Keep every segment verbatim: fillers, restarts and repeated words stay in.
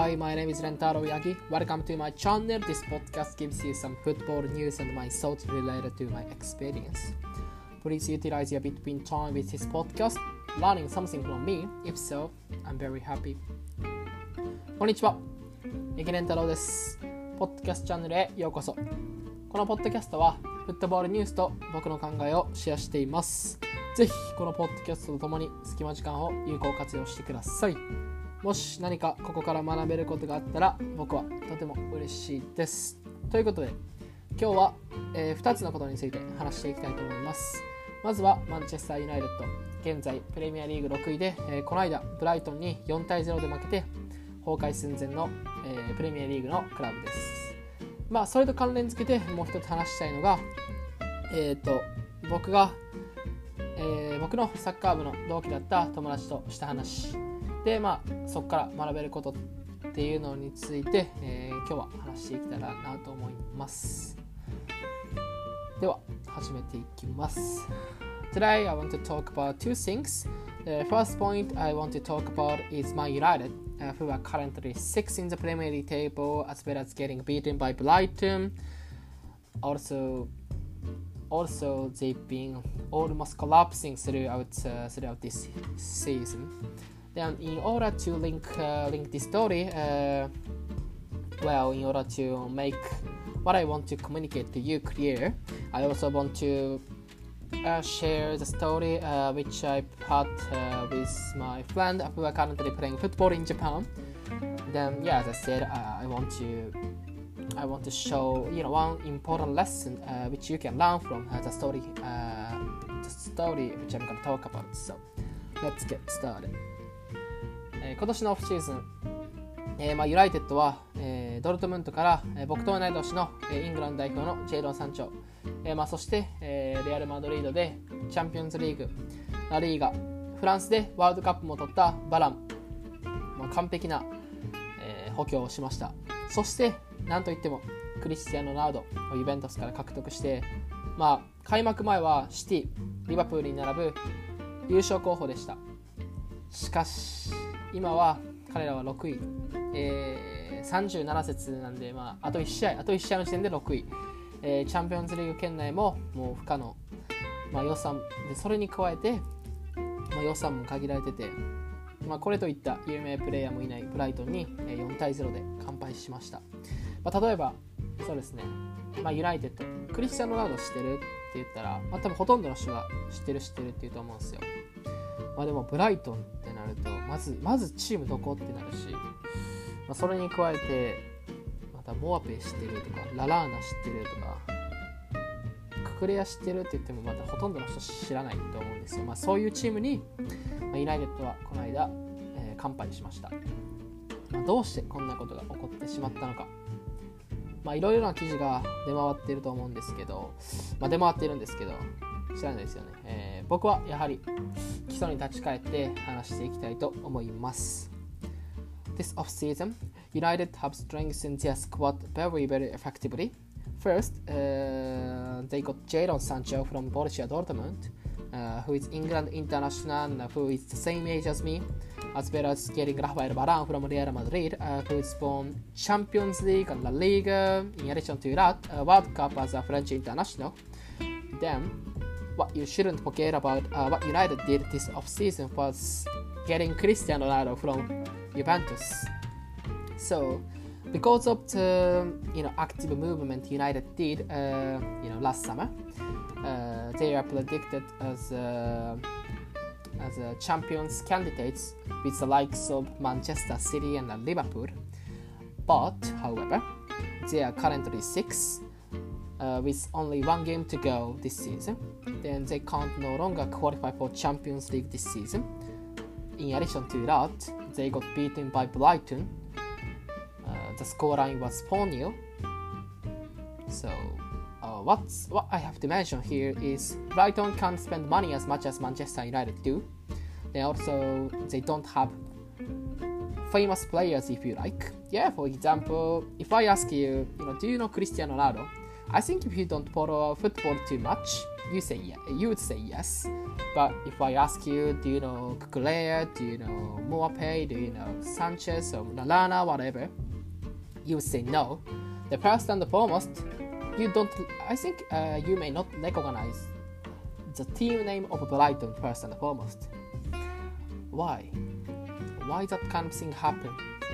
Hi, my name is Rentaro Yagi. Welcome to my channel. This podcast gives you some football news and my thoughts related to my experience. Please utilize your between time with this podcast, learning something from me. If so, I'm very happy. こんにちは。池レンタロウです。ポッドキャストチャンネルへようこそ。このポッドキャストはフットボールニュースと僕の考えをシェアしています。ぜひこのポッドキャストとともに隙間時間を有効活用してください。もし何かここから学べることがあったら僕はとても嬉しいです。ということで今日は、えー、ふたつのことについて話していきたいと思います。まずはマンチェスターユナイテッド、現在プレミアリーグろくいで、えー、この間ブライトンによんたいゼロで負けて崩壊寸前の、えー、プレミアリーグのクラブです。まあそれと関連付けてもう一つ話したいのが、えーと僕が、えー、僕のサッカー部の同期だった友達とした話で、まあそこから学べることっていうのについて、えー、今日は話していけたらなと思います。では始めていきます。Today I want to talk about two things. The first point I want to talk about is Man United, uh, who are currently sixth in the Premier League table, as well as getting beaten by Brighton. Also, also they've been almost collapsing throughout uh, throughout this season. Then, in order to link uh, link this story, uh, well, in order to make what I want to communicate to you clear, I also want to uh, share the story uh, which I had uh, with my friend who are currently playing football in Japan. Then, yeah, as I said, uh, I want to I want to show you know one important lesson uh, which you can learn from uh, the story uh, the story which I'm going to talk about. So, let's get started. えー、今年のオフシーズン、えーまあ、ユナイテッドは、えー、ドルトムントから、えー、僕と同い年の、えー、イングランド代表のジェイドン山頂、えーまあ、そして、えー、レアル・マドリードでチャンピオンズリーグ、ラリーガ、フランスでワールドカップも取ったバラン、まあ、完璧な、えー、補強をしました。そしてなんといってもクリスティアーノ・ロナウドをユベントスから獲得して、まあ、開幕前はシティ、リバプールに並ぶ優勝候補でした。しかし今は彼らはろくい、えー、さんじゅうなな節なんで、まあ、あといち試合あといち試合の時点でろくい、えー、チャンピオンズリーグ圏内ももう不可能、まあ、予算でそれに加えて、まあ、予算も限られてて、まあ、これといった有名プレイヤーもいないブライトンによんたいゼロで完敗しました。まあ、例えばそうですね、まあ、ユナイテッドクリスティアーノ・ロナウド知ってるって言ったら、まあ、多分ほとんどの人が知ってる知ってるって言うと思うんですよ。まあ、でもブライトンってなるとまずまずチームどこってなるし、まあ、それに加えてまたモアペ知ってるとかララーナ知ってるとかククレア知ってるって言ってもまたほとんどの人知らないと思うんですよ。まあ、そういうチームに、まあ、ユナイテッドはこの間、えー、完敗しました。まあ、どうしてこんなことが起こってしまったのか、まあいろいろな記事が出回っていると思うんですけど、まあ、出回っているんですけど知らないですよね。えー、僕はやはり基礎に立ち返って話していきたいと思います。This off-season, United have strengthened their squad very, very effectively. First, uh, they got Jadon Sancho from Borussia Dortmund, uh, who is England international and who is the same age as me, as well as getting Rafael Varane from Real Madrid, uh, who is won Champions League and La Liga. In addition to that, uh, World Cup as a French international. Then, what you shouldn't forget about uh, what United did this off-season was getting Cristiano Ronaldo from Juventus. So, because of the you know active movement United did uh, you know last summer, uh, they are predicted as uh, as uh, champions candidates with the likes of Manchester City and uh, Liverpool. But, however, they are currently sixth. Uh, with only one game to go this season, then they can't no longer qualify for Champions League this season. In addition to that, they got beaten by Brighton. Uh, the scoreline was four nil. So, uh, what's, what I have to mention here is Brighton can't spend money as much as Manchester United do. They also, they don't have famous players, if you like. Yeah, for example, if I ask you, you know, do you know Cristiano Ronaldo? I think if you don't follow football too much, you say yeah, you would say yes. But if I ask you, do you know Cucurella, do you know Moapay, do you know Sanchez or Lallana, whatever, you would say no. The first and the foremost, you don't. I think uh, you may not recognize the team name of Brighton first and foremost. Why? Why that kind of thing happen?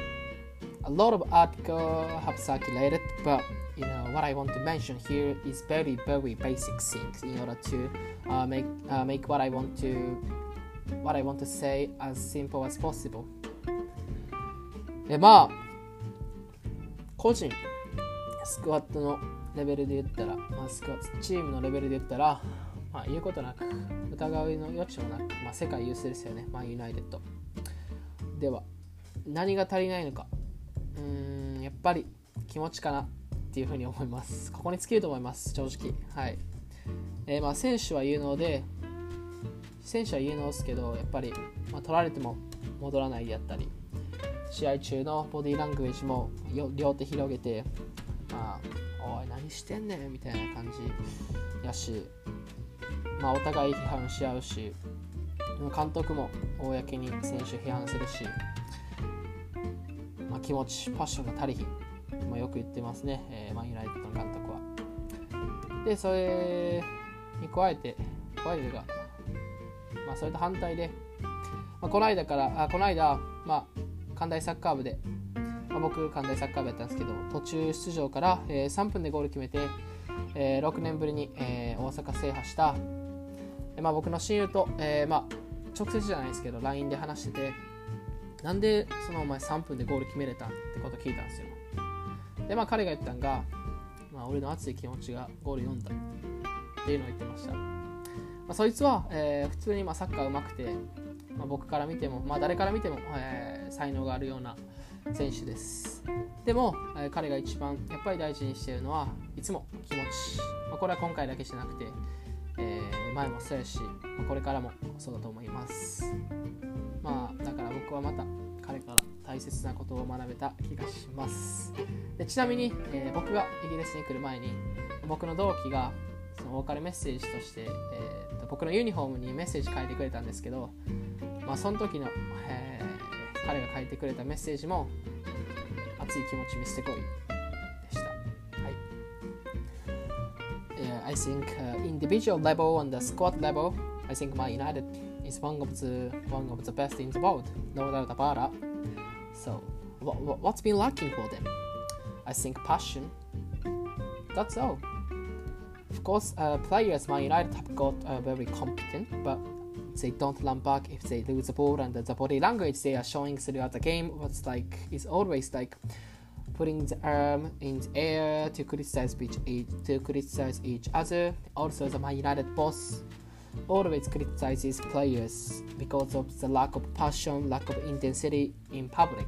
A lot of articles have circulated, but you know what I want to mention here is very very basic things in order to uh, make uh, make what I want to what I want to say as simple as possible. えまあ個人スクワットのレベルで言ったら、まあ、スクワットチームのレベルで言ったら、まあ、言うことなく疑いの余地もなく、まあ、世界有数ですよね、マンユナイテッドでは。何が足りないのか、うーんやっぱり気持ちかなっていうふうに思います。ここに尽きると思います、正直。はい。えー、まあ選手は有能で、選手は有能ですけど、やっぱり、まあ、取られても戻らないであったり、試合中のボディーラングエージも両手広げて、まあ、おい何してんねんみたいな感じやし、まあお互い批判し合うし、監督も公に選手批判するし、まあ、気持ち、パッションが足りひん。まあ、よく言ってますね、えー、マンユナイテッドの監督は。で、それに加えて、加えてが、まあ、それと反対で、まあ、この間から、あこの間、まあ、関大サッカー部で、まあ、僕、関大サッカー部やったんですけど、途中出場から、えー、さんぷんでゴール決めて、えー、ろくねんぶりに、えー、大阪制覇した、えーまあ、僕の親友と、えーまあ、直接じゃないですけど、ライン で話してて、なんでそのお前さんぷんでゴール決めれたってことを聞いたんですよ。で、まあ彼が言ったんが、まあ、俺の熱い気持ちがゴール読んだっていうのを言ってました。まあ、そいつは、えー、普通にまあサッカー上手くて、まあ、僕から見ても、まあ、誰から見ても、えー、才能があるような選手です。でも、えー、彼が一番やっぱり大事にしているのはいつも気持ち。まあ、これは今回だけじゃなくて、えー、前もそうやし、まあ、これからもそうだと思います。まあだから僕はまた彼から大切なことを学べた気がします。でちなみに、えー、僕がイギリスに来る前に僕の同期がそのお別れメッセージとして、えー、と僕のユニフォームにメッセージ書いてくれたんですけど、まあ、その時の、えー、彼が書いてくれたメッセージも熱い気持ち見せてこいでした。はい。Yeah, I think、uh, individual level and the squad level, I think Man United is one of the one of the best in the world, no doubt about it. So, what, what's been lacking for them? I think passion. That's all. Of course, uh, players Man United have got uh, very competent, but they don't run back if they lose the ball, and the, the body language they are showing throughout the game was like is always like putting the arm in the air to criticize each to criticize each other. Also, the Man United boss always criticizes players because of the lack of passion, lack of intensity in public.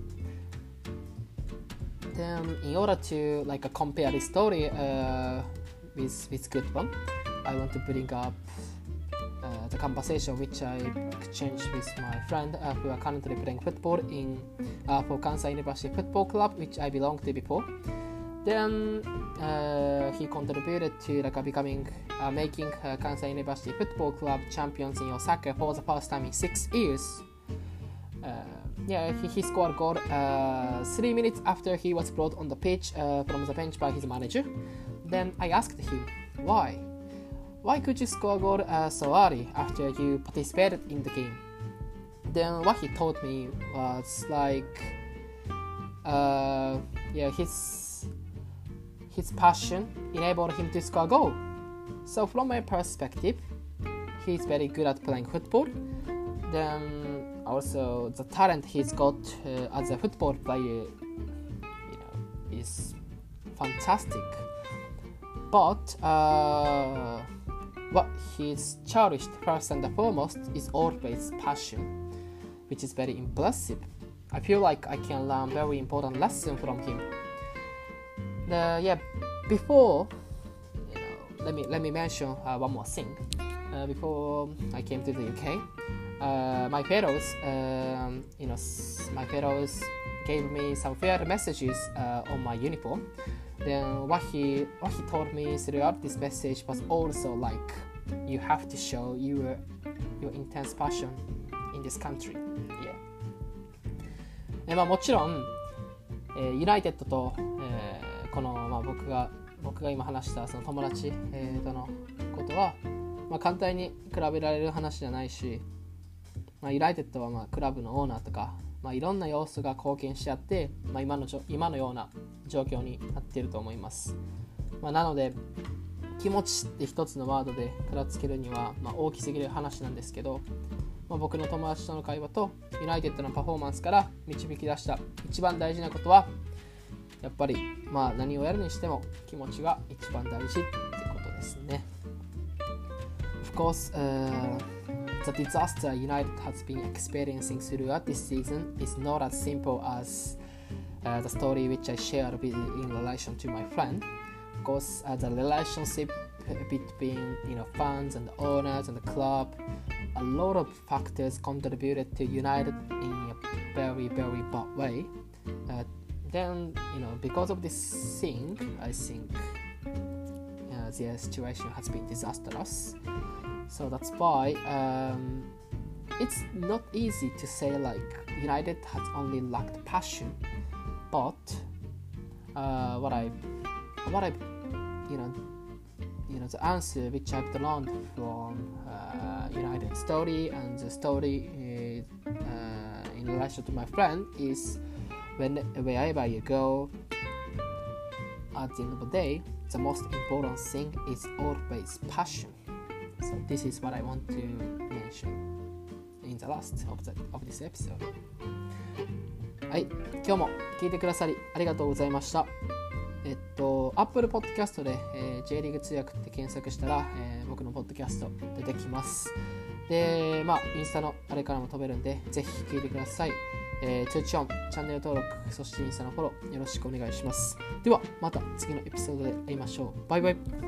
Then, in order to like uh, compare this story uh, with with good one, I want to bring up uh, the conversation which I exchanged with my friend uh, who are currently playing football in uh, for Kansai University Football Club, which I belonged to before. Then uh, he contributed to like, uh, becoming, uh, making uh, Kansai University Football Club champions in Osaka for the first time in six years. Uh, yeah, he, he scored a goal uh, three minutes after he was brought on the pitch uh, from the bench by his manager. Then I asked him, why? Why could you score a goal uh, so early after you participated in the game? Then what he told me was like, uh, yeah, his his passion enabled him to score a goal. So from my perspective, he's very good at playing football. Then also the talent he's got uh, as a football player, you know, is fantastic. But uh, what he's cherished first and foremost is always passion, which is very impressive. I feel like I can learn very important lesson from him. The, yeah, before, you know, let me let me mention uh, one more thing. Uh, before I came to the U K, uh, my fellows, um, you know, my fellows gave me some fair messages uh, on my uniform. Then what he what he told me throughout this message was also like, you have to show your, your intense passion in this country. Yeah. えまあ、もちろん、えー、ユナイテッドと、えー、この、まあ、僕が僕が今話したその友達、えー、とのことは、まあ、簡単に比べられる話じゃないし、まあ、ユナイテッドはまあクラブのオーナーとか、まあ、いろんな要素が貢献し合って、まあ、今の今のような状況になっていると思います。まあ、なので気持ちって一つのワードで片付けるには、まあ、大きすぎる話なんですけど、まあ、僕の友達との会話とユナイテッドのパフォーマンスから導き出した一番大事なことはやっぱり、まあ、何をやるにしても気持ちが一番大事ってことですね。Of course, uh, the disaster United has been experiencing throughout this season is not as simple as uh, the story which I shared with, in relation to my friend. Of course, uh, the relationship between you know fans and the owners and the club, a lot of factors contributed to United in a very very bad way. Uh, then you know because of this thing, I think uh, their situation has been disastrous. So that's why um, it's not easy to say like United has only lacked passion, but uh, what I what I you know you know the answer which I've learned from uh, United story and the story uh, uh, in relation to my friend is when wherever you go, at the end of the day, the most important thing is always passion. So this is what I want to mention in the last of, the, of this episode. はい、今日も聞いてくださりありがとうございました。えっと、Apple Podcast で、えー、J リーグ通訳って検索したら、えー、僕のポッドキャスト出てきます。で、まあ、インスタのあれからも飛べるんで、ぜひ聞いてください。えー、通知音、チャンネル登録、そしてインスタのフォローよろしくお願いします。では、また次のエピソードで会いましょう。バイバイ。